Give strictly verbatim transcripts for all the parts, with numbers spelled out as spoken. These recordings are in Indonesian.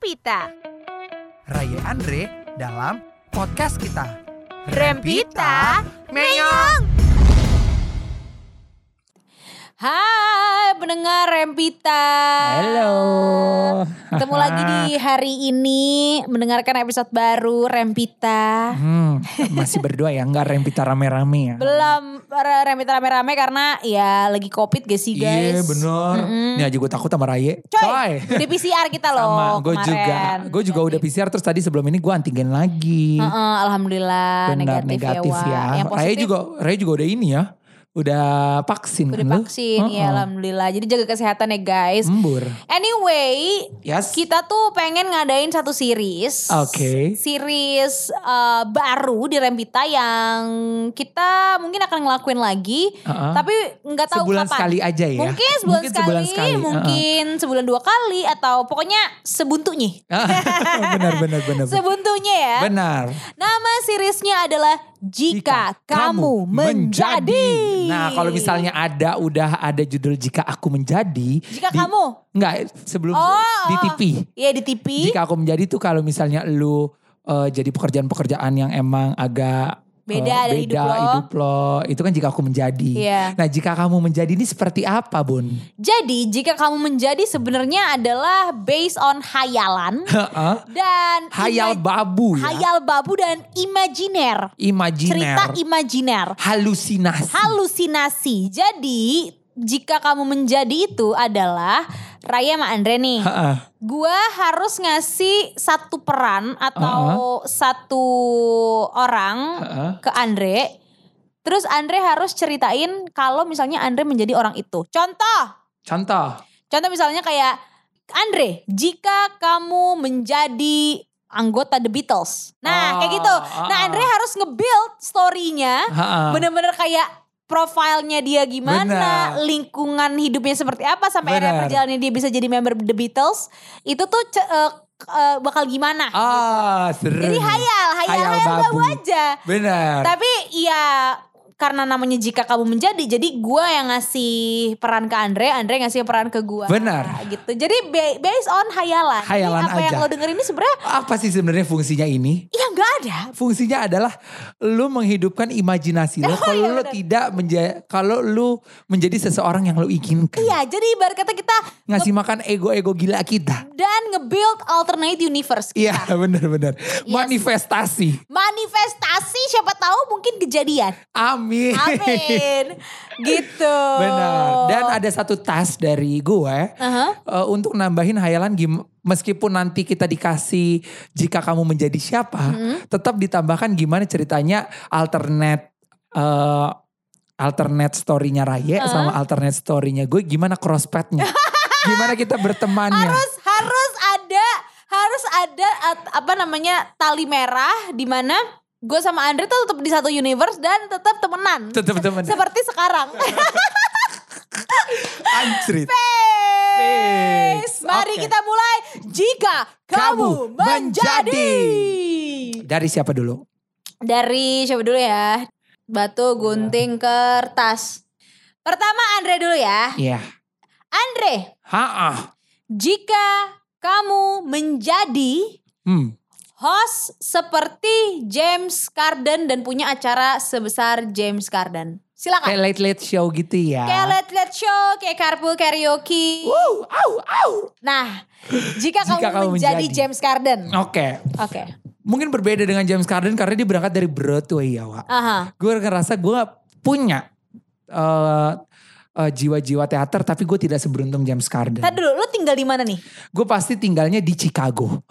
Rempita. Raya Andre dalam podcast kita. Rempita Meong. Hai pendengar Rempita. Halo. Ketemu lagi di hari ini mendengarkan episode baru Rempita. Hmm, masih berdua ya, enggak Rempita rame-rame ya? Belum Rempita rame-rame karena ya lagi covid gak sih guys? Iya bener. Mm-mm. Ini aja gue takut sama Raye. Coy, udah P C R kita loh Sama gue kemarin. juga. Gue juga udah P C R terus tadi sebelum ini gue antigen lagi. Uh-uh, Alhamdulillah Benar negatif, negatif ya. ya. Wak. Yang Raye positif juga, Raye juga udah ini ya. Udah vaksin udah kan lu? vaksin ya Uh-uh. Alhamdulillah. Jadi jaga kesehatan ya guys. Embur. Anyway, Yes. kita tuh pengen ngadain satu series. Oke. Series uh, baru di Rempita yang kita mungkin akan ngelakuin lagi. Uh-uh. Tapi nggak tahu Sebulan kapan. sekali aja ya. Mungkin sebulan, Mungkin sekali, sebulan sekali. mungkin sebulan dua kali atau pokoknya sebuntunya. benar benar benar. Sebuntunya ya. Benar. Nama seriesnya adalah Jika, Kamu Menjadi. Nah kalau misalnya ada udah ada judul Jika Aku Menjadi. Jika di- kamu? Enggak sebelum Oh, di T V. Iya di T V. Jika Aku Menjadi tuh kalau misalnya lu uh, jadi pekerjaan-pekerjaan yang emang agak Beda uh, dari beda hidup lo. hidup lo. Itu kan Jika Aku Menjadi. Iya. Nah Jika Kamu Menjadi ini seperti apa Bun? Jadi Jika Kamu Menjadi sebenarnya adalah based on hayalan Heeh. dan Hayal ima- babu ya. hayal babu dan imajiner. Imajiner. Cerita imajiner. Halusinasi. Halusinasi. Jadi Jika Kamu Menjadi itu adalah Raya sama Andre nih. Heeh. Gua harus ngasih satu peran atau satu orang Heeh. ke Andre. Terus Andre harus ceritain kalau misalnya Andre menjadi orang itu. Contoh. Contoh. Contoh misalnya kayak Andre, jika kamu menjadi anggota The Beatles. Nah, Oh, kayak gitu. Nah, ah. Andre harus nge-build story-nya. Ha-ha. Bener-bener kayak profilnya dia gimana, Benar. lingkungan hidupnya seperti apa sampai akhirnya Benar. perjalanannya dia bisa jadi member The Beatles. Itu tuh ce- eh, eh, bakal gimana? Ah, seru. Jadi hayal, hayal, Hayal hayal, babu babu. aja. Benar. Tapi ya karena namanya Jika Kamu Menjadi, jadi gue yang ngasih peran ke Andre, Andre ngasih peran ke gue. Benar. Gitu. Jadi ba- based on hayalan. Hayalan Jadi apa yang aja. lo denger ini sebenarnya Apa sih sebenarnya fungsinya ini? ya nggak ada. Fungsinya adalah lu menghidupkan imajinasi lo. Oh, Kalau iya lu benar. tidak menjadi, kalau lu menjadi seseorang yang lu inginkan. Iya, jadi ibarat kata kita Ngasih makan ego-ego gila kita. dan nge-build alternate universe kita. Iya benar-benar. Manifestasi. Manifestasi siapa tahu mungkin kejadian. Amin. Amin. Gitu. Benar. Dan ada satu task dari gue Aha. uh, untuk nambahin hayalan gim- meskipun nanti kita dikasih jika kamu menjadi siapa, Mm-hmm. tetap ditambahkan gimana ceritanya alternate uh, alternate story-nya Raye Uh-huh. sama alternate story-nya gue, gimana crosspath-nya. Gimana kita bertemannya. harus harus ada harus ada at- apa namanya tali merah di mana gue sama Andre tuh tetap di satu universe dan tetap temenan. Tetap temenan. Seperti sekarang. Anjrit. Face. Mari Oke. kita mulai. Jika kamu, Kamu menjadi. Dari siapa dulu? Dari siapa dulu ya? Batu, gunting, kertas. Pertama Andre dulu ya. Iya. Andre, Ha-ah. jika kamu menjadi Hmm. host seperti James Corden dan punya acara sebesar James Corden. Silakan. Kayak late late show gitu ya. Kayak Late Late Show, kayak Carpool Karaoke. Wow, au, au. Nah, jika, Jika kamu, kamu menjadi menjadi. James Corden. Oke. Oke. Mungkin berbeda dengan James Corden karena dia berangkat dari Broadway ya Wak. Aha. Gue ngerasa gue punya uh, uh, jiwa-jiwa teater tapi gue tidak seberuntung James Corden. Tadi dulu, lu tinggal di mana nih? Gue pasti tinggalnya di Chicago.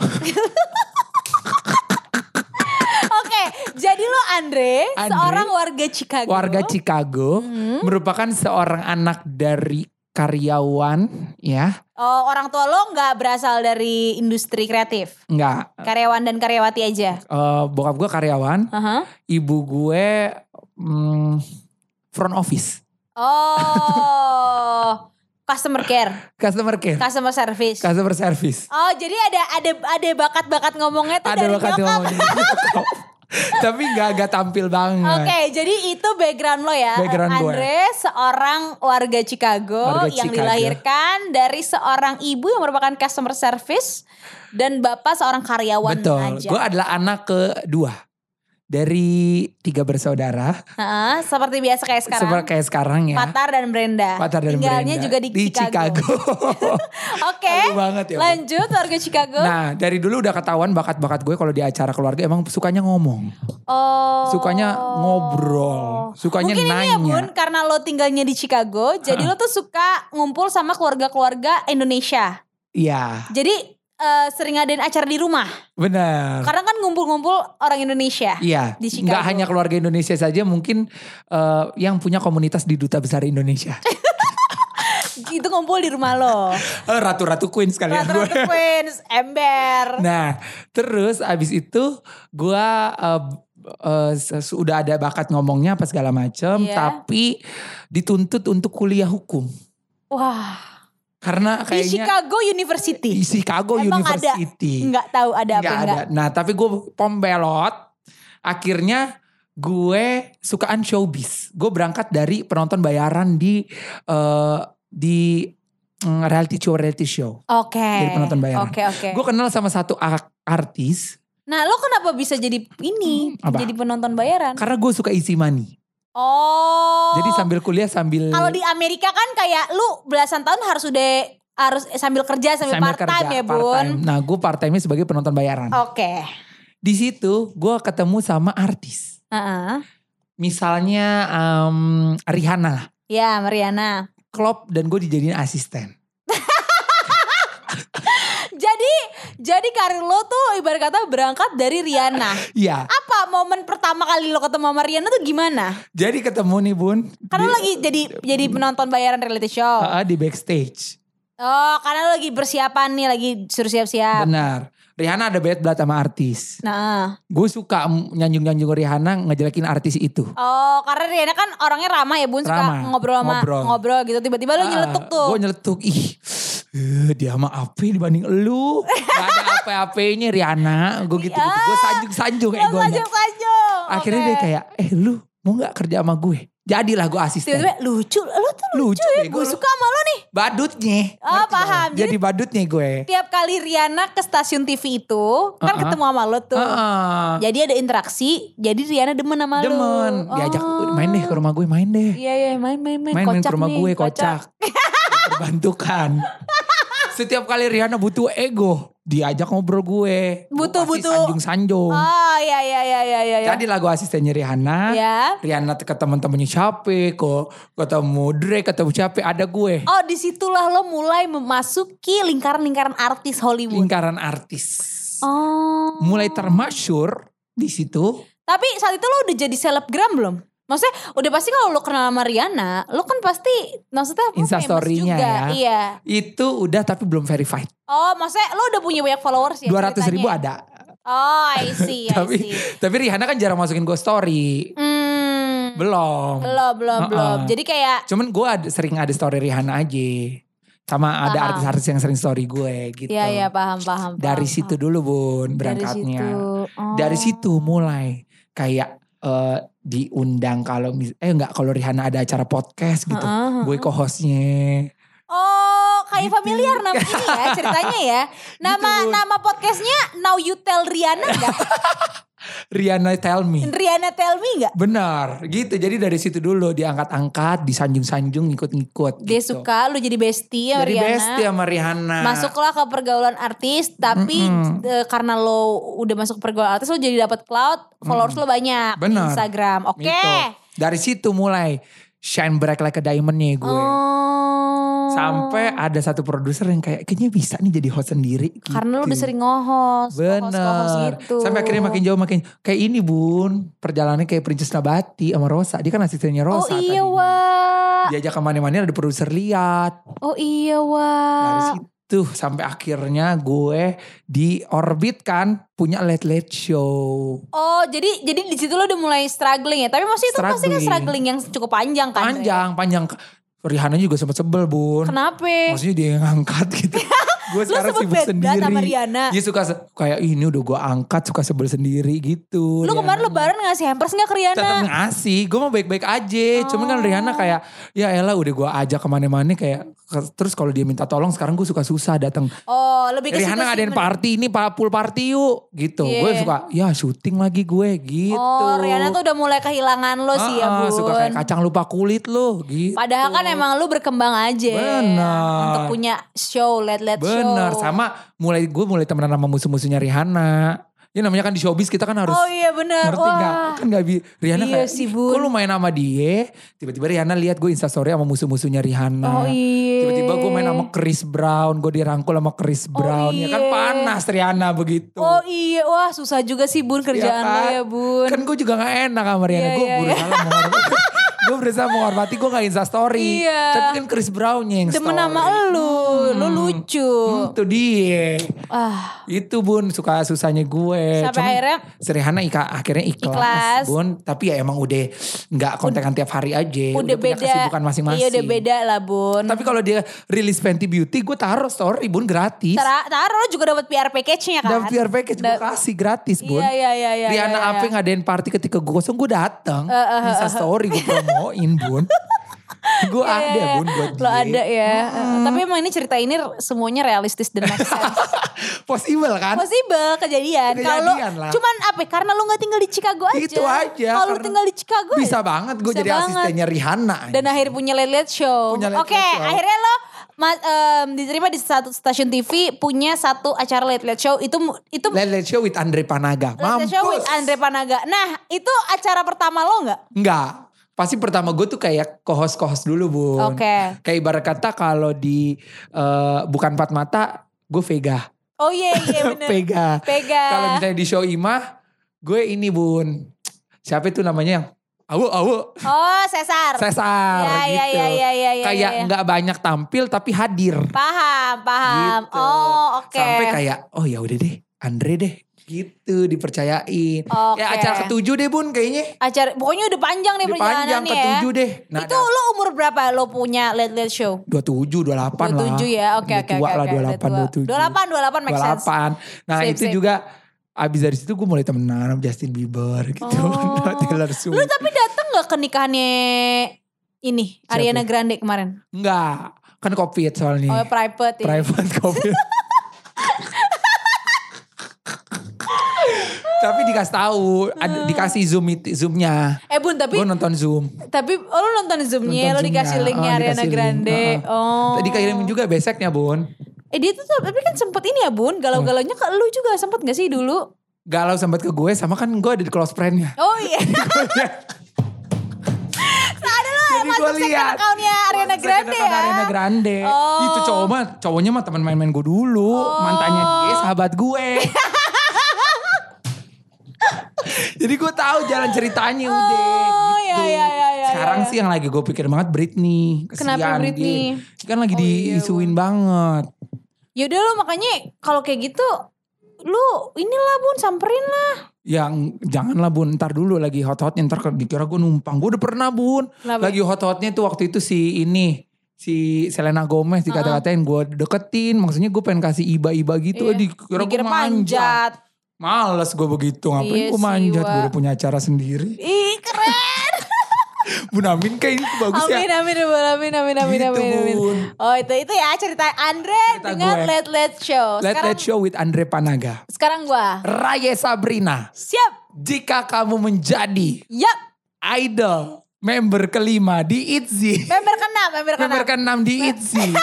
Oke, jadi lo Andre, Andre, seorang warga Chicago. Warga Chicago, Hmm. merupakan seorang anak dari karyawan ya. Oh, orang tua lo nggak berasal dari industri kreatif? Enggak, Karyawan dan karyawati aja? uh, bokap gue karyawan, Aha. ibu gue mm, front office. Oh, customer care, Customer care, customer service. customer service. Oh, jadi ada ada ada bakat-bakat ngomongnya tuh Ada dari bakat nyokap. ngomongnya. Tapi gak, gak tampil banget. Oke, jadi itu background lo ya. Background gue. Andre seorang warga Chicago Warga yang Chicago. dilahirkan dari seorang ibu yang merupakan customer service dan bapak seorang karyawan Betul, aja. gue adalah anak kedua dari tiga bersaudara. Heeh, seperti biasa kayak sekarang. Seperti kayak sekarang ya. Patar dan Brenda. Patar dan Tinggalnya Brenda. juga di, di Chicago. Chicago. Oke. Malu banget ya, Bu. Lanjut warga Chicago. Nah dari dulu udah ketahuan bakat-bakat gue kalau di acara keluarga emang sukanya ngomong. Oh. Sukanya ngobrol. Sukanya Mungkin nanya. ini ya Bun, karena lo tinggalnya di Chicago, jadi lo tuh suka ngumpul sama keluarga-keluarga Indonesia. Iya Jadi eh, sering ngadain acara di rumah. benar. Karena kan ngumpul-ngumpul orang Indonesia. Iya, Di Chicago. nggak hanya keluarga Indonesia saja, mungkin eh, yang punya komunitas di Duta Besar Indonesia. Itu ngumpul di rumah lo. Eh, Ratu-ratu Queen sekalian gue. Ratu-ratu Queens, ember. Nah, terus abis itu gue uh, uh, sudah ada bakat ngomongnya apa segala macem, Iya. tapi dituntut untuk kuliah hukum Wah. karena Di kayaknya Chicago University. di Chicago Emang University. ada? Enggak tahu ada apa Nggak enggak. ada. Nah, tapi gue pom belot. Akhirnya gue sukaan showbiz. Gue berangkat dari penonton bayaran di uh, di mm, reality show reality show. Oke. Jadi penonton bayaran. Oke, oke. Gue kenal sama satu ak- artis Nah, lo kenapa bisa jadi ini? Hmm, apa? Jadi penonton bayaran? karena gue suka isi money. Oh. Jadi sambil kuliah sambil Kalau di Amerika kan kayak lu belasan tahun harus udah harus sambil kerja sambil, sambil part time kerja, ya, Bun. part-time. Nah, gue part time-nya sebagai penonton bayaran. Oke. Di situ gue ketemu sama artis. Heeh. Misalnya um, Rihanna lah. Ya, Mariana. Klop dan gue dijadiin asisten. Jadi jadi karir lo tuh ibarat kata berangkat dari Rihanna. Iya. Apa momen pertama kali lo ketemu sama Rihanna tuh gimana? Jadi ketemu nih Bun. Karena di, lo lagi jadi jadi penonton bayaran reality show. uh, di backstage. Oh, karena lo lagi persiapan nih, lagi suruh siap-siap. Benar. Rihanna ada bad blood sama artis. Nah. Gue suka nyanjung-nyanjung Rihanna ngejelekin artis itu. Oh, karena Rihanna kan orangnya ramah ya, Bun, suka Ramah, ngobrol sama ngobrol. ngobrol, gitu. Tiba-tiba lo nyeletuk tuh. Gue nyeletuk. Ih, eh, dia mah apa dibanding elu. Gak ada apa-apanya Rihanna. Gue gitu-gitu. Gue sanjung-sanjung Lo egonya. sanjung-sanjung. Akhirnya Oke. dia kayak, eh lu mau gak kerja sama gue? Jadilah gue asisten. Tiba-tiba lucu, lo tuh lucu, Lucu ya. deh, Gue gua- suka sama lo nih. Badutnya. Oh, Ngerti gak paham. lo? Jadi badutnya gue. Tiap kali Rihanna ke stasiun T V itu, kan Uh-uh. ketemu sama lo tuh. Uh-uh. Jadi ada interaksi, jadi Rihanna demen sama lo. Demen. Diajak Oh. main deh ke rumah gue, main deh. Iya, iya, main, main, main. Main, main Kocak ke rumah nih, gue, kocak. Terbantukan. Setiap kali Rihanna butuh ego, diajak ngobrol gue. Butuh, Gue kasih butuh. sanjung-sanjung. Oh, iya, iya, iya, iya, iya. Jadi lagu asistennya Rihanna. Ya. Rihanna ke teman-temannya siapa, kok ketemu Drake, ketemu siapa, ada gue. Oh, disitulah lo mulai memasuki lingkaran-lingkaran artis Hollywood. Lingkaran artis. Oh. Mulai termasyur di situ. Tapi saat itu lo udah jadi selebgram belum? Maksudnya udah pasti kalau lo kenal sama Rihanna, lo kan pasti maksudnya lo Insta famous story-nya juga. ya. Iya. Itu udah tapi belum verified. Oh, maksudnya lo udah punya banyak followers ya? dua ratus ribu ceritanya? ada. Oh, I see, I tapi see. tapi Rihanna kan jarang masukin gue story. Hmm. Belum. Belum, belum, Uh-uh. belum. Jadi kayak Cuman gue ada, sering ada story Rihanna aja. Sama ada Paham. artis-artis yang sering story gue gitu. iya, iya, paham, paham. Dari paham, situ paham. dulu Bun Dari berangkatnya. situ. Oh. Dari situ mulai kayak eh, diundang kalau mis- eh enggak kalau Rihanna ada acara podcast gitu. Uh-uh, Gue co-hostnya. Oh, kayak Gitu. familiar nama ini ya ceritanya ya. Nama Gitu, Bun. nama podcastnya Now You Tell Rihanna enggak? Rihanna Tell Me. Rihanna Tell Me enggak? Benar gitu. Jadi dari situ dulu diangkat-angkat, disanjung-sanjung, ngikut-ngikut. Dia gitu. suka lu jadi bestie sama Jadi Rihanna. bestie sama Rihanna. Masuklah ke pergaulan artis, tapi Mm-mm. eh, karena lo udah masuk ke pergaulan artis, lo jadi dapat cloud, followers lo banyak di Benar. Instagram. Oke. Gitu. Dari situ mulai shine bright like a diamond nih gue. Oh. Sampai ada satu produser yang kayak kayaknya bisa nih jadi host sendiri. Gitu. Karena lo udah sering nge-host, nge-host, nge-host Bener. gitu. Sampai akhirnya makin jauh makin kayak ini Bun. Perjalanannya kayak Princess Nabati sama Rosa. Dia kan asistennya Oh Rosa iya tadinya. wah. Diajak kemana-mana ada produser lihat. Oh iya Dari wah. situ sampai akhirnya gue diorbit kan punya late late show. Oh jadi jadi di situ lo udah mulai struggling ya. Tapi maksudnya itu pasti kan Struggling. struggling yang cukup panjang kan. Dre? Panjang, panjang. Rihanna juga sempet sebel Bun. Kenapa? Maksudnya dia yang ngangkat gitu. Gue Lu sekarang sempet sibuk bad blood sendiri. sama Rihanna. Iya suka se- kayak ini udah gue angkat suka sebel sendiri gitu. Lu kemarin lebaran ngasih hampers gak ke Rihanna? Tetap ngasih, gue mau baik-baik aja. Cuman kan Rihanna kayak ya elah udah gue ajak kemana-mana kayak terus kalau dia minta tolong sekarang gue suka susah datang. Oh lebih ke Rihanna situ sih, ngadain men- party ini pa- pool party yuk gitu. Iya. Gue suka ya syuting lagi gue gitu. Oh Rihanna tuh udah mulai kehilangan lo sih ya Ah, Bun. suka kayak kacang lupa kulit lo gitu. Padahal kan emang lu berkembang aja. Bener. Untuk punya show, let-let show. Bener, sama mulai gue mulai temenan sama musuh-musuhnya Rihanna. Ya namanya kan di showbiz kita kan harus Oh iya bener. ngerti Wah. gak? Kan gak bi Rihanna Iya kayak, sih, "Ih, Bun." kok lu main sama dia? Tiba-tiba Rihanna lihat gue instastory sama musuh-musuhnya Rihanna. Oh iya. Tiba-tiba gue main sama Chris Brown, gue dirangkul sama Chris Brown. Ya kan iya. panas Rihanna begitu. Oh iya, wah susah juga sih Bun kerjaan lo ya Bun. Kan gue juga gak enak sama Rihanna. Iya, Gue iya, berusaha menghormati. Gue berusaha menghormati, gue gak instastory. Iya. Tapi kan Chris Brown yang Demen story. sama lu, lu lucu. Hmm, itu dia. Ah, Itu Bun suka susahnya gue. Sampai Cuman akhirnya- si Rihanna ika, akhirnya ikhlas, Ikhlas. Bun. Tapi ya emang udah gak kontekan tiap hari aja. udah, punya beda. kesibukan masing-masing. Iya udah beda lah Bun. Tapi kalau dia rilis Fenty Beauty gue taruh story Bun gratis. Tara- Taruh juga dapat P R package-nya kan. Dan P R package gue Da- kasih gratis Bun. Iya iya iya iya. Rihanna iya, apa iya. yang ngadain party ketika gue kosong gue datang. Eh, eh, Insta story gue promoin Bun. Gue Iya, ada iya, iya. Bun buat Lo dia. ada ya. Eh, Tapi emang ini cerita ini semuanya realistis dan make sense. Possible kan? Possible kejadian. Kalau Kejadian lah. cuman apa? ya, Karena lu nggak tinggal di Chicago aja. Itu aja. Kalau lu karena tinggal di Chicago bisa ya, banget gue bisa jadi banget. asistennya Rihanna. Dan akhirnya punya Late Late Show. Punya Late Oke, Late Show. akhirnya lo ma- em, diterima di satu stasiun T V punya satu acara Late Late Show itu itu Late Late Show with Andre Panaga. Late Late Show with Mampus. Andre Panaga. Nah, itu acara pertama lo nggak? Enggak. Pasti pertama gue tuh kayak co-host-co-host dulu Bun. Oke. Kayak ibarat kata kalau di eh, Bukan Empat Mata gue Vega. Oh iya iya bener. Vega. Vega. Kalau misalnya di show Imah gue ini Bun. Siapa itu namanya yang Awu Awu. Oh, Cesar. Cesar Ya, gitu. ya, ya, ya, ya, ya, kayak ya. nggak banyak tampil tapi hadir. Paham, paham. Gitu. Oh, oke. Sampai kayak oh ya udah deh Andre deh gitu dipercayain. Oke. Kayak acara ketujuh deh Bun kayaknya. Acara pokoknya udah panjang nih Udah panjang perjalanannya ya. ketujuh deh. Nah, Itu lo umur berapa lo punya Late Late Show? dua puluh tujuh, dua puluh delapan lah. dua puluh tujuh ya. Oke Udah oke tua oke. lah oke, dua puluh udah delapan, tua. dua puluh tujuh. dua puluh delapan, dua puluh delapan make sense. dua puluh delapan. Nah Sip, itu sip. juga abis dari situ gue mulai temenan sama Justin Bieber gitu. Oh. Taylor Lu Swift. tapi datang gak ke nikahannya ini Siapa? Ariana Grande kemarin? Enggak. Kan covid soalnya. Oh private ya. Private covid. Tapi dikasih tahu, ada, dikasih zoom it- zoomnya. Eh Bun tapi Gue nonton zoom. tapi oh lu nonton zoomnya, Nonton lo dikasih zoomnya. linknya Oh, Ariana dikasih link. Grande. Uh-uh. Oh. Tadi kirimin juga beseknya Bun. Eh dia tuh tapi kan sempet ini ya Bun, galau-galaunya ke lu juga sempet gak sih dulu? Galau sempat ke gue sama kan gue ada di close friend-nya. Oh iya. Ada lo Jadi masuk gue second lihat. account-nya Ariana Masuk Grande second account ya. Ariana Grande. Oh. Itu cowok mah, cowoknya mah teman main-main gue dulu. Mantannya dia sahabat gue. Jadi gue tahu jalan ceritanya udah. Oh gitu. ya ya ya ya. Sekarang ya. sih yang lagi gue pikir banget Britney. Kesian Kenapa Britney? Dia. Kan lagi Oh, iya, diisuin banget. Yaudah lo makanya kalau kayak gitu lu inilah Bun samperin lah. Yang janganlah Bun, ntar dulu lagi hot-hotnya, ntar dikira gue numpang. Gue udah pernah Bun. Kenapa? Lagi hot-hotnya tuh waktu itu si ini. Si Selena Gomez dikata-katain gue deketin. Maksudnya gue pengen kasih iba-iba gitu. Iya. Dikira gue Dikira manjat. panjat. Males gue begitu. Ngapain Iya gue sih, manjat. Gue Wak. udah punya acara sendiri. Ih keren. Bun Amin kayak ini bagus Amin ya. amin amin amin amin amin Gitu, amin. amin. Bun. Oh itu itu ya cerita Andre Cerita dengan gue. Late Late Show. Let Sekarang Let Show with Andre Panaga. sekarang gua. Raya Sabrina. Siap. Jika kamu menjadi Yap. idol member kelima di I T Z Y. Member keenam, member keenam. Member keenam di I T Z Y.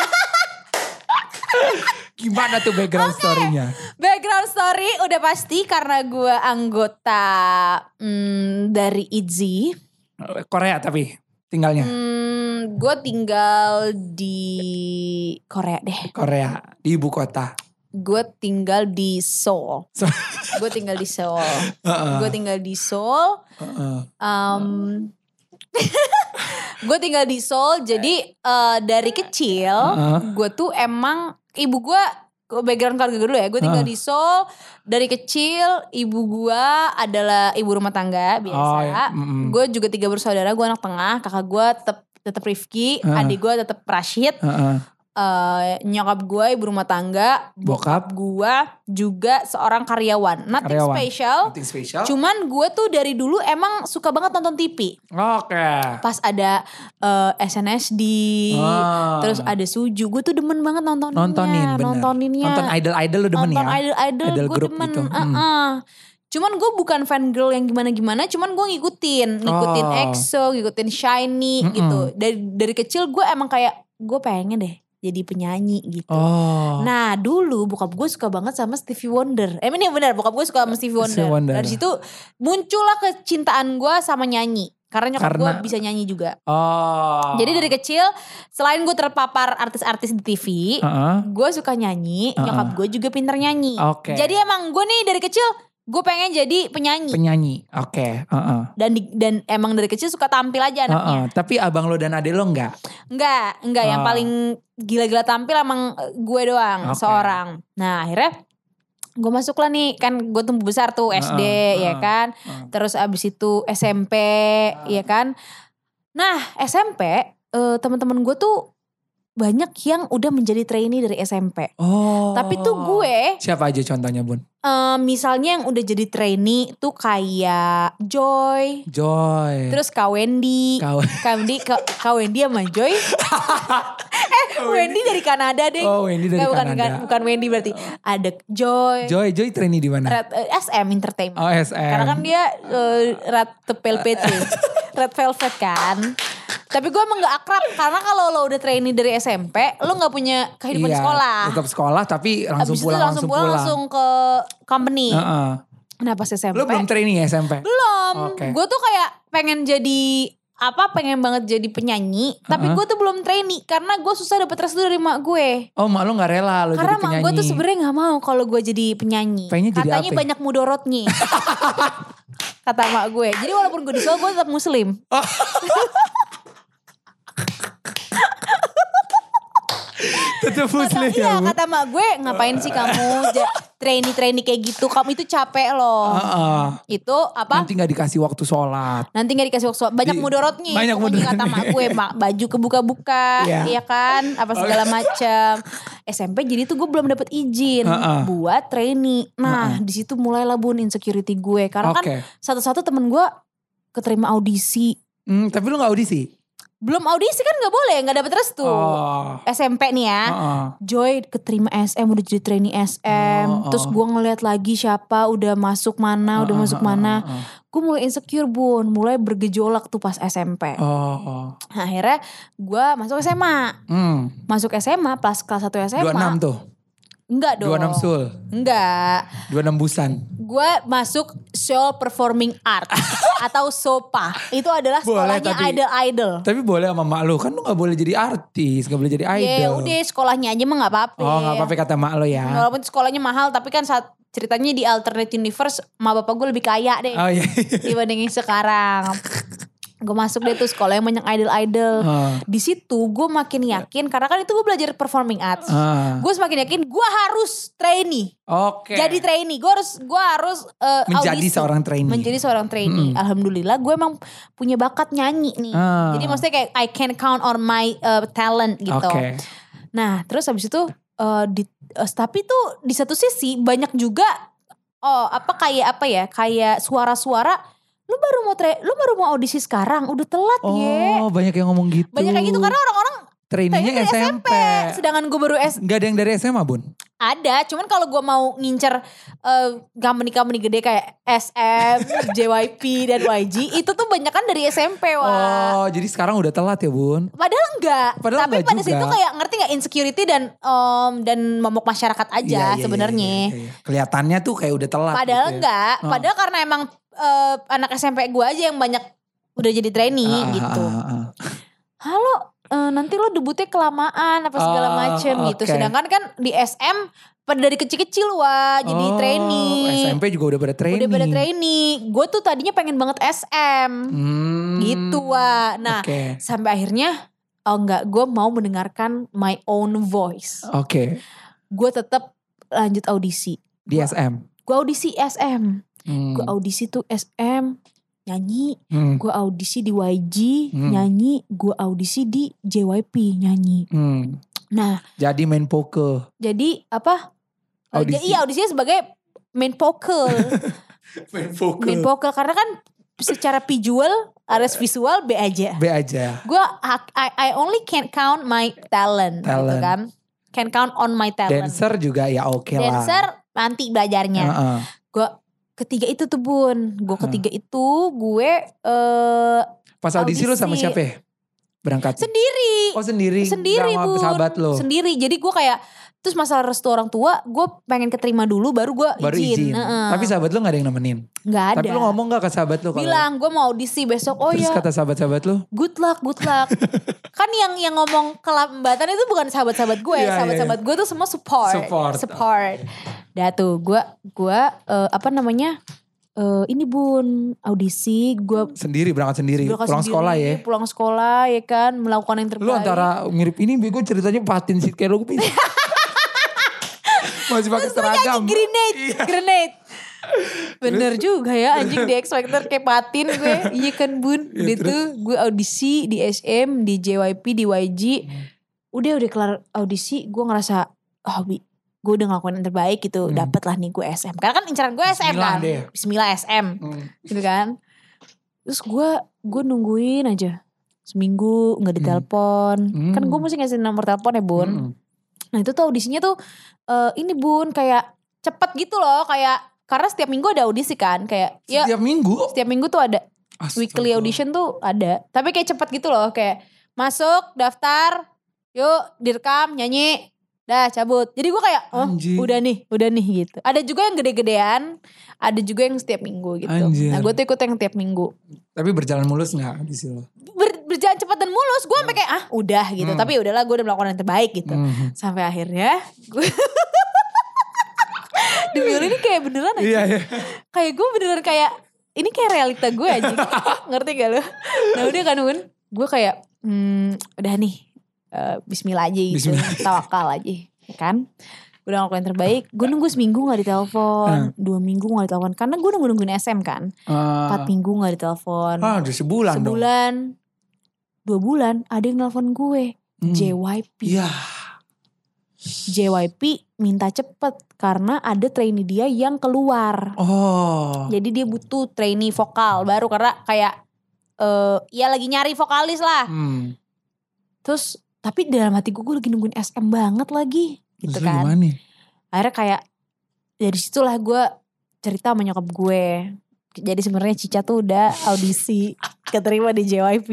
Gimana tuh background story-nya? Background story udah pasti karena gue anggota hmm, dari I T Z Y. Korea tapi tinggalnya. Hmm, gue tinggal di Korea deh. Korea di ibu kota. Gue tinggal di Seoul. So- Gue tinggal di Seoul. Uh-uh. Gue tinggal di Seoul. Uh-uh. Um, gue tinggal di Seoul. Jadi uh, dari kecil Uh-uh. gue tuh emang ibu gue background keluarga gue dulu ya. Gue tinggal Uh. di Seoul. Dari kecil ibu gue adalah ibu rumah tangga biasa. Oh, ya. Mm-mm. Gue juga tiga bersaudara. Gue anak tengah. Kakak gue tetap tetap Rifki. Uh. Adik gue tetap Rashid. Uh-uh. uh, nyokap gue ibu rumah tangga, Bokap. bokap gue juga seorang karyawan. Nothing Karyawan. special. Nothing special. Cuman gue tuh dari dulu emang suka banget nonton T V. Oke. Pas ada uh, S N S D, Ah. terus ada Suju, gue tuh demen banget nontoninnya. Nontonin bener. Nontoninnya. Nonton idol-idol lu demen Nonton ya? idol-idol Idol gue group demen. gitu. Hmm. Uh-uh. Cuman gue bukan fan girl yang gimana-gimana, cuman gue ngikutin, ngikutin Oh. EXO, ngikutin SHINee Mm-mm. gitu. Dari dari kecil gue emang kayak gue pengen deh jadi penyanyi gitu. Oh. Nah dulu bokap gue suka banget sama Stevie Wonder. Eh ini benar, bokap gue suka sama Stevie Wonder. Stevie Wonder. Dari situ muncullah kecintaan gue sama nyanyi. Karena nyokap gue Karena- bisa nyanyi juga. Oh. Jadi dari kecil selain gue terpapar artis-artis di T V, Heeh. gue suka nyanyi, Uh-uh. nyokap gue juga pinter nyanyi. Oke. Jadi emang gue nih dari kecil gue pengen jadi penyanyi. Penyanyi. Oke. Heeh. dan di- dan emang dari kecil suka tampil aja anaknya. Heeh. Tapi abang lo dan adek lo enggak? Enggak, enggak yang Oh. paling gila-gila tampil emang eh, gue doang, Oke. seorang. Nah, akhirnya gue masuk lah nih, kan gue tumbuh besar tuh S D Heeh, ya heeh, kan. heeh. Terus abis itu S M P ya kan. Nah, S M P eh, teman-teman gue tuh banyak yang udah menjadi trainee dari S M P. Oh. Tapi tuh gue Siapa aja contohnya Bun? eh, misalnya yang udah jadi trainee tuh kayak Joy, Joy. terus Kak Wendy. Kau. Kak Wendy, Kak, Kak Wendy sama Joy. eh Wendy dari Kanada deh. Oh, Wendy dari Nggak, bukan, Kanada. Bukan, bukan Wendy berarti. Ada Joy. Joy, Joy trainee di mana? Red, eh, S M Entertainment. Oh, S M. Karena kan dia uh, Red Velvet tuh. Red Velvet kan. Tapi gue emang gak akrab. Karena kalau lo udah trainee dari S M P, lo gak punya kehidupan Iya, di sekolah. Tetap sekolah tapi langsung Abis pulang itu langsung pulang, langsung ke company. Heeh. Nah pas S M P. Lo belum trainee ya S M P? Belum. Oke. Gue tuh kayak pengen jadi apa pengen banget jadi penyanyi, tapi Uh-uh. gue tuh belum trainee karena gue susah dapet restu dari mak gue. Oh, mak lo gak rela lo Karena jadi mak penyanyi. gue tuh sebenarnya nggak mau kalau gue jadi penyanyi. Pengennya jadi Katanya apa? banyak mudorotnya. Kata mak gue. Jadi walaupun gue di Solo gue tetap muslim. Tetap Kata, muslim ya, iya Bu? kata mak gue ngapain sih kamu ja- trainee-trainee kayak gitu. Kamu itu capek loh. Heeh. Itu apa? Nanti gak dikasih waktu sholat. Nanti gak dikasih waktu banyak Di- mudorotnya. banyak Pokoknya kata mudorotnya. mak gue mak, baju kebuka-buka Iya. ya kan apa segala macam. S M P jadi tuh gue belum dapet izin Uh-uh. buat trainee. Nah di situ mulailah Bun insecurity gue karena Oke. kan satu-satu temen gue keterima audisi. Hmm, tapi lo gak audisi? Belum audisi kan gak boleh, gak dapet restu. Oh. S M P nih ya. Heeh. Joy keterima S M udah jadi trainee S M. Oh, Terus oh. gue ngeliat lagi siapa udah masuk mana, udah Heeh, masuk heeh, mana. heeh. Gue mulai insecure Bun, mulai bergejolak tuh pas S M P. Oh, oh. Nah, akhirnya gue masuk S M A. Hmm. Masuk S M A pas kelas satu S M A. dua puluh enam tuh. Enggak dong. dua puluh enam sul. Enggak. dua puluh enam busan. Gue masuk Seoul Performing Art atau SOPA. Itu adalah Boleh, sekolahnya tapi- idol-idol. Tapi boleh sama mak lo. Kan lo gak boleh jadi artis. Gak boleh jadi idol. Ya udah sekolahnya aja mah gak apa-apa. Oh gak apa-apa kata mak lo ya. Walaupun sekolahnya mahal tapi kan saat ceritanya di alternate universe ma bapak gue lebih kaya deh Oh iya. dibandingin sekarang. Gue masuk deh tuh sekolah yang banyak idol-idol. Ah. Di situ gue makin yakin karena kan itu gue belajar performing arts. Ah. Gue semakin yakin gue harus trainee. Oke. Jadi trainee. Gue harus gue harus uh, Menjadi audisi. seorang trainee. Menjadi seorang trainee. Mm-mm. Alhamdulillah gue emang punya bakat nyanyi nih. Ah. Jadi maksudnya kayak I can count on my uh, talent gitu. Oke. Nah terus habis itu uh, di, uh, tapi tuh di satu sisi banyak juga oh apa kayak apa ya kayak suara-suara lu baru mau tra- lu baru mau audisi sekarang udah telat ye. Oh banyak yang ngomong gitu. Banyak kayak gitu karena orang-orang trainingnya trainee dari S M P. sedangkan gue baru S Gak ada yang dari S M A Bun? ada cuman kalau gue mau ngincer uh, company-company gede kayak S M, J Y P dan Y G itu tuh banyak kan dari S M P wah. Oh jadi sekarang udah telat ya Bun? Padahal enggak, Padahal tapi enggak pada juga. situ kayak ngerti gak insecurity dan um, dan momok masyarakat aja Iya, iya, sebenarnya. iya, iya, iya. Kelihatannya tuh kayak udah telat. Padahal gitu ya. enggak, Oh. padahal karena emang uh, anak S M P gue aja yang banyak udah jadi trainee Ah, ah, gitu. ah, ah. Halo, uh, nanti lo debutnya kelamaan apa segala Oh, macem gitu. oke. Sedangkan kan di S M pada dari kecil-kecil wah jadi Oh, trainee. S M P juga udah pada training. Udah pada trainee. Gue tuh tadinya pengen banget S M. Hmm, Gitu wah. Nah Oke. sampai akhirnya oh enggak gue mau mendengarkan my own voice. Oke. Gue tetap lanjut audisi. Di S M. Gue audisi S M. Hmm. Gue audisi tuh S M nyanyi. Hmm. Gue audisi di Y G Hmm. nyanyi. Gue audisi di J Y P nyanyi. Hmm. Nah. Jadi main poker. Jadi apa? Audisi. Iya audisinya sebagai main poker. main poker. Main poker karena kan secara visual, ares visual B aja. B aja. Gue I, I only can count my talent, talent. gitu kan. Can count on my talent. Dancer juga ya oke okay lah. Dancer nanti belajarnya. Uh-uh. Gue ketiga itu tuh Bun. Gue ketiga uh. itu gue uh, pas audisi, audisi lo sama siapa ya? Berangkat? Sendiri. Oh sendiri? Sendiri sama Bun. sahabat lo? Sendiri. Jadi gue kayak, terus masalah restu orang tua, gue pengen keterima dulu baru gue izin. Baru izin. Uh-uh. Tapi sahabat lo gak ada yang nemenin? Gak ada. Tapi lo ngomong gak ke sahabat lo? Bilang gue mau audisi besok. Oh terus ya. kata sahabat-sahabat lo? Good luck, good luck. Kan yang yang ngomong kelambatan itu bukan sahabat-sahabat gue. Yeah, sahabat-sahabat yeah. gue tuh semua support. Support. Support. Dah tuh gue, gue uh, apa namanya. Uh, ini Bun, audisi gue sendiri berangkat sendiri, berangkat pulang sendiri, sekolah ya. Pulang sekolah ya kan, melakukan yang terbaik. Lu antara mirip ini bego ceritanya patin sih kayak lu masih pakai seragam. Grenade, iya. grenade. Bener juga ya anjing di X Factor kayak patin gue. Iya kan Bun. Ya, Udah tuh gue audisi di S M, di J Y P, di Y G. Udah udah kelar audisi gue ngerasa oh bi gue udah ngelakuin yang terbaik gitu. Hmm. Dapet lah nih gue S M. Karena kan incaran gue S M Bismillah kan. Deh. Bismillah S M. Hmm. Gitu kan. Terus gue gue nungguin aja. Seminggu gak ditelepon. Hmm. Kan gue mesti ngasih nomor telepon ya Bun. Hmm. Nah itu tuh audisinya tuh uh, ini Bun kayak cepet gitu loh. Kayak karena setiap minggu ada audisi kan. Kayak setiap ya, minggu? Setiap minggu tuh ada. Astaga. Weekly audition tuh ada. Tapi kayak cepet gitu loh. Kayak masuk daftar. Yuk direkam nyanyi. Dah cabut. Jadi gue kayak oh Anjir. udah nih. Udah nih gitu. Ada juga yang gede-gedean. Ada juga yang setiap minggu gitu. Anjir. Nah gue tuh ikut yang tiap minggu. Tapi berjalan mulus gak audisi lo? Ber, berjalan cepat dan mulus. Gue sampai kayak ah udah gitu. Hmm. Tapi udahlah gue udah melakukan yang terbaik gitu. Hmm. Sampai akhirnya gue demi ini kayak beneran aja. Iya, iya. Kayak gue beneran kayak ini kayak realita gue aja. Ngerti gak lo? Nah udah kan Un. Gue kayak hmm, udah nih. Uh, Bismillah aja gitu. Bismillah. Tawakal aja. Kan? Gue udah ngelakuin yang terbaik. Gue nunggu seminggu gak ditelepon. Hmm. Dua minggu gak ditelepon. Karena gue nunggu nungguin S M kan. Uh. Empat minggu gak ditelepon. Ah udah sebulan, sebulan dong. Sebulan. Dua bulan ada yang nelfon gue. Hmm. J Y P. Iya. J Y P minta cepet. Karena ada trainee dia yang keluar. Oh. Jadi dia butuh trainee vokal baru. Karena kayak. Uh, ya lagi nyari vokalis lah. Hmm. Terus. Tapi dalam hati gue, gue lagi nungguin S M banget lagi. Gitu terus kan. Gimana? Akhirnya kayak. Dari situlah gue cerita sama nyokap gue. Jadi sebenarnya Cica tuh udah audisi. Keterima di J Y P.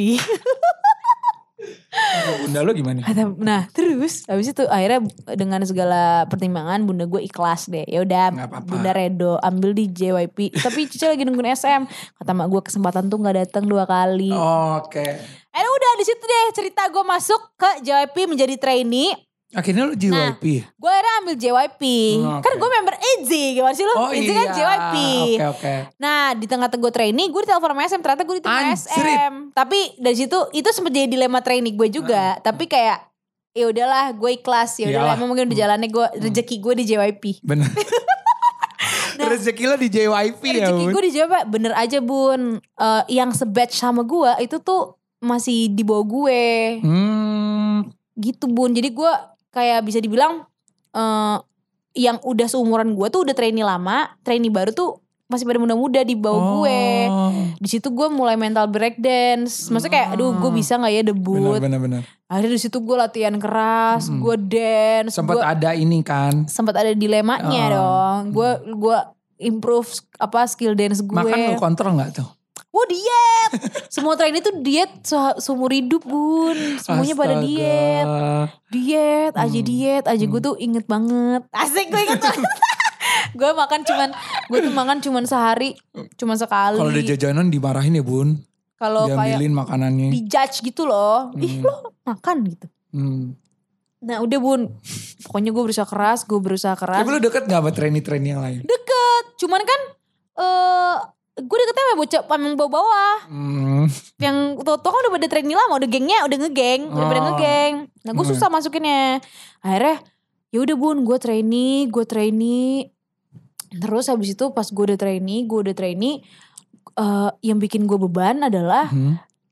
Bunda lo gimana? Nah terus habis itu akhirnya dengan segala pertimbangan bunda gue ikhlas deh. Ya udah bunda redo ambil di J Y P. Tapi Cica lagi nungguin S M. Kata mak gue kesempatan tuh gak datang dua kali. Oh, oke. Okay. Eh udah di situ deh cerita gue masuk ke J Y P menjadi trainee. Akhirnya lu J Y P? Nah, gue akhirnya ambil J Y P. Hmm, okay. Kan gue member I Z Y. Gimana sih lu? Oh I Z Y iya. kan J Y P. Oke okay, oke. Okay. Nah di tengah-tengah gue trainee. Gue ditelepon sama S M. Ternyata gue ditelepon S M. Tapi dari situ itu sempat jadi dilema trainee gue juga. Hmm. Tapi kayak ya udahlah gue ikhlas. Ya udahlah emang mungkin udah jalannya gue rezeki gue di J Y P. Bener. Nah, rezeki lo di J Y P ya Rezeki gue di J Y P bener aja Bun. Uh, yang se-batch sama gue itu tuh masih di bawah gue. Hmm. Gitu Bun. Jadi gue kayak bisa dibilang uh, yang udah seumuran gue tuh udah trainee lama, trainee baru tuh masih pada muda-muda di bawah oh. gue. Di situ gue mulai mental breakdance. Maksudnya kayak aduh gue bisa gak ya debut. Benar-benar. Akhirnya di situ gue latihan keras, hmm. gue dance. Sempat ada ini kan. Sempat ada dilemanya oh. dong. Gue gue improve apa skill dance gue. Makan lo kontrol gak tuh? Wah diet. Semua trainee tuh diet se- seumur hidup Bun. Semuanya Astaga. pada diet. Diet aja hmm. diet aja. Hmm. Gue tuh inget banget. Asik gue inget banget. Gue makan cuman. Gue tuh makan cuman sehari. Cuman sekali. Kalau udah jajanan dimarahin ya Bun. Kalau kayak makanannya. Dijudge gitu loh. Hmm. Ih lo makan gitu. Hmm. Nah udah Bun. Pokoknya gue berusaha keras. Gue berusaha keras. Tapi lo deket gak sama trainee-trainee yang lain? Deket. Cuman kan. Eh uh, gue deketnya sama bocah pameng bawah-bawah. Hmm. Yang tau-tau kan udah pada trainee lama, udah gengnya udah ngegeng, oh. udah pada ngegeng. Nah gue susah hmm. masukinnya. Akhirnya ya udah Bun, gue trainee, gue trainee. Terus habis itu pas gue udah trainee, gue udah trainee, uh, yang bikin gue beban adalah hmm.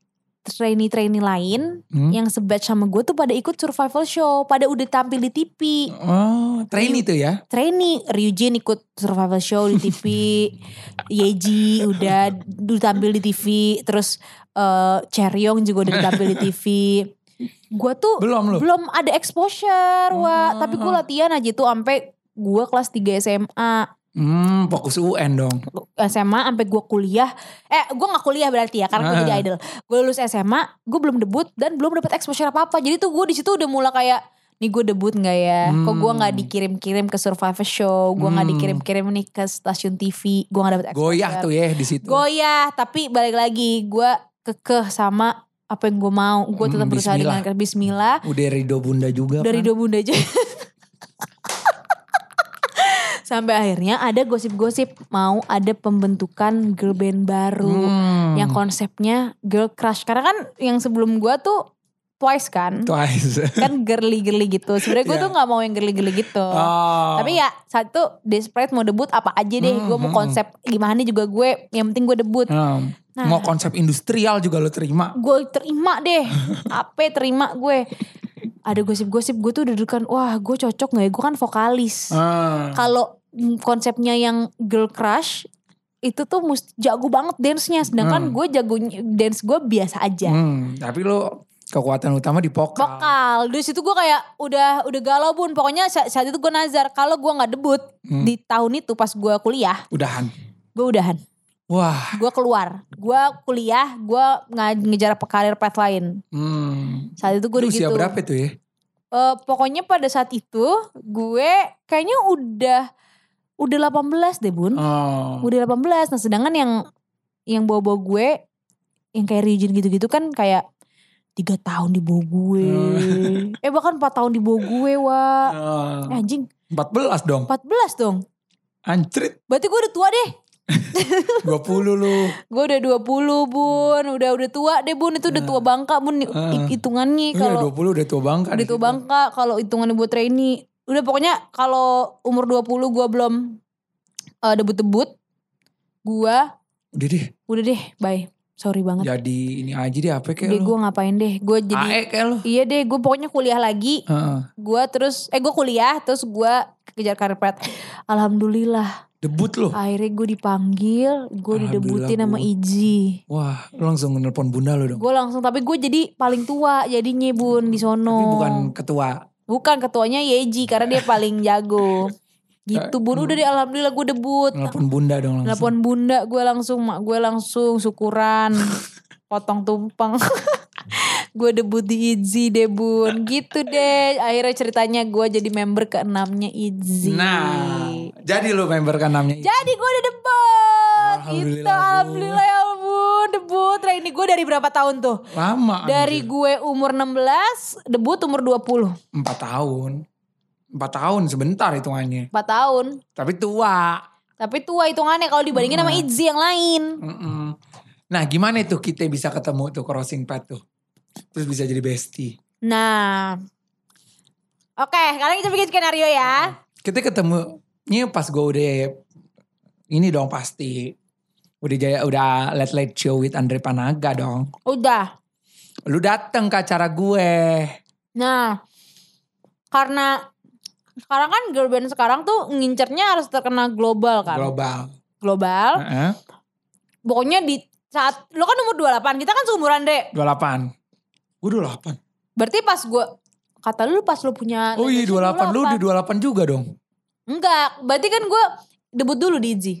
trainee-trainee lain Hmm? yang sebatch sama gue tuh pada ikut survival show, pada udah tampil di T V. Oh, trainee tuh ya? Trainee, Ryujin ikut survival show di T V, Yeji udah udah tampil di T V, terus uh, Chaeryeong juga udah tampil di T V. Gue tuh Belum lu? belum ada exposure, wah. Oh. Tapi gue latihan aja tuh sampai gue kelas tiga S M A. Hmm, fokus U N dong. S M A sampai gue kuliah. Eh, gue gak kuliah berarti ya, karena gue Ah. jadi idol. Gue lulus S M A, gue belum debut dan belum dapat exposure apa-apa. Jadi tuh gue di situ udah mulai kayak, nih gue debut nggak ya? Kok gue nggak dikirim-kirim ke survivor show? Gue nggak Hmm. dikirim-kirim nih ke stasiun T V. Gue nggak dapet exposure. Goyah tuh ya di situ. Goyah, tapi balik lagi gue kekeh sama apa yang gue mau. Gue tetap Hmm, berusaha bismillah. dengan Bismillah. Udah ridho bunda juga Dari kan? dua bunda aja. Sampai akhirnya ada gosip-gosip mau ada pembentukan girl band baru. Hmm. Yang konsepnya girl crush. Karena kan yang sebelum gue tuh Twice kan. Twice. Kan girly-girly gitu. Sebenarnya gue Iya. tuh gak mau yang girly-girly gitu. Oh. Tapi ya saat itu desperate mau debut apa aja deh. Hmm, Gue mau hmm. konsep gimana juga gue. Yang penting gue debut. Hmm. Nah. Mau konsep industrial juga lo terima. Gue terima deh. Apa terima gue. Ada gosip-gosip gue tuh udah dekan. Wah gue cocok gak ya. Gue kan vokalis. Hmm. Kalau mm, konsepnya yang girl crush. Itu tuh mesti jago banget dance-nya. Sedangkan Hmm. gue jago dance gue biasa aja. Hmm. Tapi lo kekuatan utama di vokal. Vokal. Dari situ gue kayak udah udah galau bun. Pokoknya saat, saat itu gue nazar. Kalau gue gak debut Hmm. di tahun itu pas gue kuliah. Udahan. Gue udahan. Wah. Gue keluar. Gue kuliah. Gue nge- ngejar karir path lain. Hmm. Saat itu gue Lu udah usia gitu. berapa tuh ya? Eh, pokoknya pada saat itu gue kayaknya udah udah delapan belas deh bun. Oh. Udah delapan belas. Nah sedangkan yang yang bawa-bawa gue yang kayak Ryujin gitu-gitu kan kayak tiga tahun di bawah gue. eh bahkan empat tahun di bawah gue wah. Oh. Eh, anjing empat belas dong. empat belas dong. Anjrit. Berarti gue udah tua deh. dua puluh lu. Gue udah dua puluh bun. Udah udah tua deh bun. Itu udah tua bangka bun. Ah. Hitungannya Iya, kalau dua puluh udah tua bangka. udah di tua situ. bangka. Kalau hitungannya buat trainee. Udah pokoknya kalau umur dua puluh gue belum uh, debut-debut. Gue Udah deh. udah deh bye. Sorry banget. Jadi ini aja deh apa kayak Deh lu. gue ngapain deh. Gue jadi. A E kayak lu. Iya deh gue pokoknya kuliah lagi. Heeh. Gue terus. Eh gue kuliah. Terus gue kejar karir pet. Alhamdulillah. Debut lu. Akhirnya gue dipanggil. Gue didebutin sama Alhamdulillah, Bu. Iji. Wah, lu langsung nelpon bunda lu dong. Gue langsung. Tapi gue jadi paling tua jadinya bun di sono. Tapi bukan ketua. Bukan ketuanya Yeji. Karena dia paling jago. Gitu bun. Udah deh alhamdulillah gue debut. Nelpon bunda dong langsung. Telepon bunda gue langsung. Mak gue langsung syukuran. Potong tumpeng. Gue debut di Itzy deh bun. Gitu deh. Akhirnya ceritanya gue jadi member keenamnya Itzy. Nah, jadi lu member keenamnya. Jadi gue udah debut. Alhamdulillah, Gitu. Bu. Alhamdulillah ya ampun. Debut. Nah ini gue dari berapa tahun tuh? Lama. Dari anjir. gue umur enam belas. Debut umur dua puluh. Empat tahun. Empat tahun sebentar hitungannya. empat tahun. Tapi tua. Tapi tua hitungannya kalau dibandingin sama Itzy yang lain. Mm-mm. Nah gimana tuh kita bisa ketemu tuh crossing path tuh. Terus bisa jadi bestie. Nah. Oke sekarang kita bikin skenario ya. Kita ketemunya pas gue udah ini dong pasti. Udah jaya udah late late show with Andre Panaga dong. Udah. Lu dateng ke acara gue. Nah. Karena sekarang kan girl band sekarang tuh ngincernya harus terkenal global kan. Global. Global. Heeh. Pokoknya di saat lo kan umur dua puluh delapan, kita kan seumuran deh. dua puluh delapan. Gue dua puluh delapan. Berarti pas gue kata lu pas lu punya Oh iya dua puluh delapan. Lu di dua puluh delapan juga dong. Enggak, berarti kan gue debut dulu di Itzy.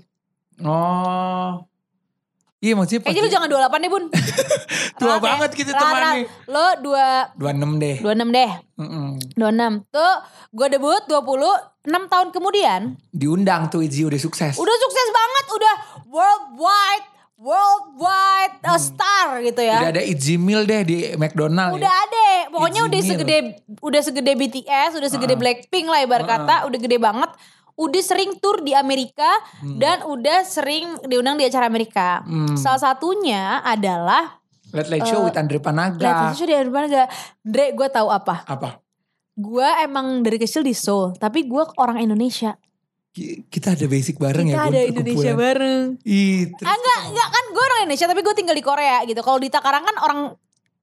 Oh. Iya maksudnya pas Kayaknya lu jangan dua puluh delapan deh bun. tua Rat ya. banget gitu Rat, temannya. Rat. Lo dua dua puluh enam deh. dua puluh enam deh. Mm-mm. dua puluh enam. Tuh gue debut dua puluh enam tahun kemudian. Diundang tuh Itzy udah sukses. Udah sukses banget, udah worldwide, worldwide uh, star gitu ya. Udah ada Itzy Meal deh di McDonald. Udah ya. ada, pokoknya Itzy udah Meal. segede udah segede B T S, udah segede Uh-uh. Blackpink lah ibarat Uh-uh. kata, udah gede banget. Udah sering tur di Amerika Hmm. dan udah sering diundang di acara Amerika. Hmm. Salah satunya adalah Late Late Show with Andre Panaga. Lihat itu di mana gak? Dre, gue tahu apa? Apa? Gue emang dari kecil di Seoul, tapi gue orang Indonesia. Ki- Kita ada basic bareng Kita ya. ada Bun, Indonesia perkumpulan. bareng. Ih, terus Ah enggak, enggak kan gue orang Indonesia tapi gue tinggal di Korea gitu. Kalau di Takarang kan orang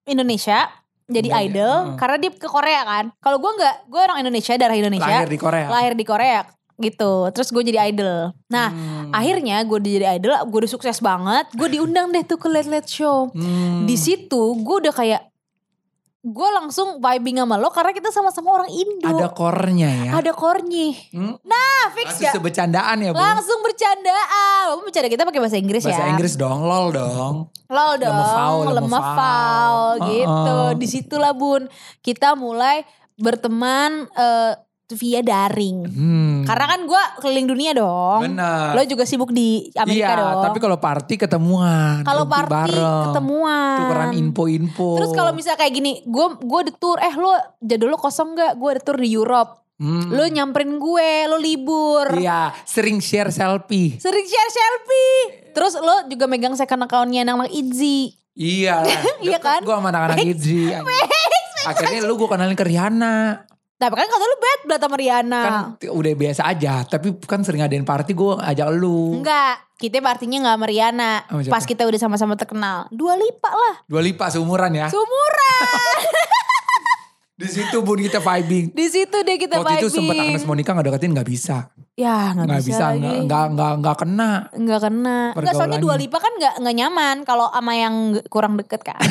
Indonesia jadi Enggak, idol ya. karena dia ke Korea kan. Kalau gue nggak, gue orang Indonesia, darah Indonesia. Lahir di Korea. Lahir di Korea gitu. Terus gue jadi idol. Nah Hmm. akhirnya gue udah jadi idol, gue udah sukses banget. Gue diundang deh tuh ke Late Late Show. Hmm. Di situ gue udah kayak, gue langsung vibing sama lo karena kita sama-sama orang Indo. Ada core-nya ya. Ada core-nya. Hmm? Nah fix Langsung gak? sebecandaan ya, Bu. Langsung bercandaan. Walaupun bercanda kita pakai bahasa Inggris Bahasa ya. Inggris dong, lol dong. Lol dong, Lemefau, lemefau. lemefau gitu. Uh-uh. Disitulah Bun, kita mulai berteman eh, via daring. Hmm. Karena kan gue keliling dunia dong. Bener. Lo juga sibuk di Amerika iya, dong. tapi kalau party ketemuan. Kalau duduk party bareng. ketemuan. Tukeran info-info. Terus kalau misalnya kayak gini, gue gue ada tour, eh lo jadul lo kosong gak? Gue ada tour di Europe. Hmm. Lo nyamperin gue, lo libur. Iya, sering share selfie. Sering share selfie. Terus lo juga megang second account-nya anak-anak Itzy. Iya lah. Iya kan? Gue sama anak-anak Itzy. Akhirnya lu gue kenalin ke Rihanna. Tapi kan kata lu bad blood sama Rihanna. Kan t- udah biasa aja. Tapi kan sering ngadain party gue ajak lu. Enggak, kita partinya gak sama Rihanna. Sama siapa? Pas kita udah sama-sama terkenal. Dua Lipa lah. Dua Lipa seumuran ya. Sumuran. Di situ Bun kita vibing. Di situ deh kita Waktu vibing. itu sempet Agnes Monica gak deketin gak bisa. Ya gak, Gak bisa, bisa, lagi. gak, gak, gak, gak kena. Nggak kena. Enggak, soalnya Dua Pergaulannya. Lipa kan gak, gak nyaman kalau sama yang kurang deket kan.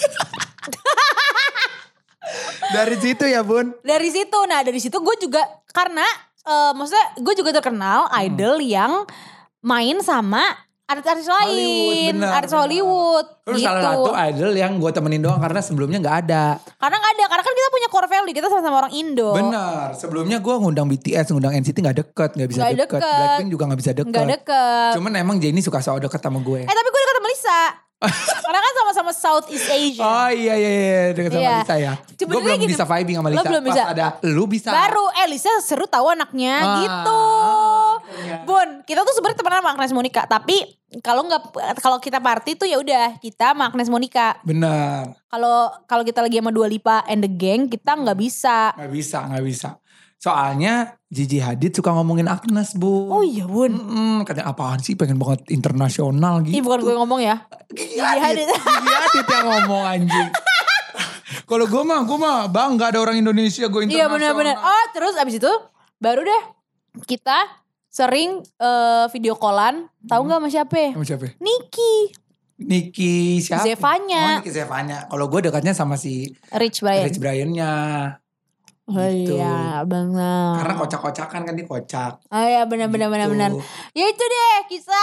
Dari situ ya Bun. Dari situ, nah dari situ gue juga karena eh, maksudnya gue juga terkenal idol yang main sama artis-artis lain, Hollywood, benar, artis benar. Hollywood, Terus gitu. salah satu idol yang gue temenin doang karena sebelumnya gak ada. Karena nggak ada, karena kan kita punya core value, kita sama-sama orang Indo. Bener, sebelumnya gue ngundang B T S, ngundang N C T gak deket, gak bisa Nggak deket. deket. Blackpink juga gak bisa deket. Nggak deket. Cuman emang Jennie suka so deket sama gue. Eh tapi gue deket sama Lisa. Karena kan sama-sama Southeast Asia. Oh iya iya iya deket sama Iya. Lisa ya. Gue Sebenarnya belum gini, bisa vibing sama lo Lisa. belum Pas bisa. ada lu bisa. Baru eh Lisa seru tahu anaknya Ah, gitu. akhirnya. Bun, kita tuh sebenarnya temenan sama Agnes Monica, tapi kalau nggak kalau kita party tuh ya udah kita sama Agnes Monica. Bener, Kalau kalau kita lagi sama Dua Lipa and the gang, kita nggak bisa. gak bisa gak bisa. Soalnya Gigi Hadid suka ngomongin Agnes Bu. Oh iya Bun. Mm-mm, katanya apaan sih pengen banget internasional gitu. Ih bukan gue ngomong ya. Gigi Gigi Hadid. Hadid. Gigi Hadid yang ngomong anjing. Kalau gue mah, gue mah bangga ada orang Indonesia gue internasional. Iya benar-benar. Oh terus abis itu baru deh kita sering eh, video callan. Tahu nggak sama siapa? Sama siapa? Niki, Niki siapa? Zevanya. Oh Niki Zevanya. Kalau gue dekatnya sama si Rich Brian. Rich Brian-nya. Oh Gitu. iya benar. Karena kocak-kocakan kan dia kocak. Oh iya benar-benar Gitu. benar-benar. Ya itu deh kisah.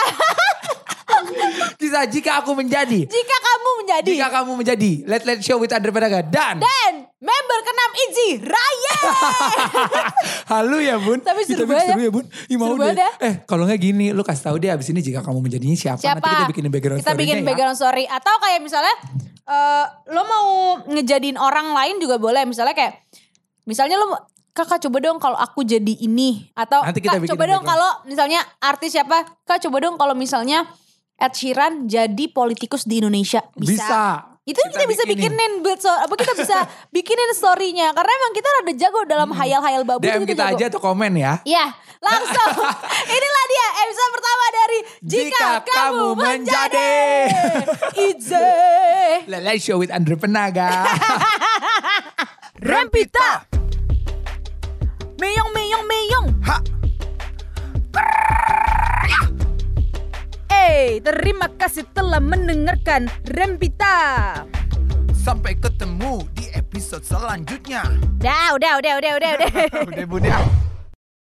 Kisah jika aku menjadi. Jika kamu menjadi Jika kamu menjadi Let Let Show with Andre Pedaga dan dan member keenam Itzy Raya. Halu ya Bun. Tapi seru Kita bikin banget seru ya Bun. Ih, mau Seru deh. banget ya. Eh kalau gak gini lu kasih tahu deh abis ini jika kamu menjadinya siapa. Siapa? Nanti kita bikinin background Kita bikin story-nya ya. background story atau kayak misalnya eh lo mau ngejadiin orang lain juga boleh. Misalnya kayak misalnya lo Kakak coba dong kalau aku jadi ini atau Nanti kita Kak bikin coba dong background. kalau misalnya artis siapa Kak coba dong kalau misalnya Ed Sheeran jadi politikus di Indonesia bisa, Bisa. itu kita, bisa bikinin build so, apa kita bisa bikinin storynya karena emang kita rada jago dalam hayal-hayal babu D M itu kita jago. aja atau komen ya. Iya langsung inilah dia episode pertama dari Jika, Jika Kamu Kamu Menjadi Itzy Let Let Show with Andre Penaga. Rempita Meyong meyong meyong Ha. Eh terima kasih telah mendengarkan Rempita. Sampai ketemu di episode selanjutnya. Dah udah udah udah udah udah Udah Bun ya.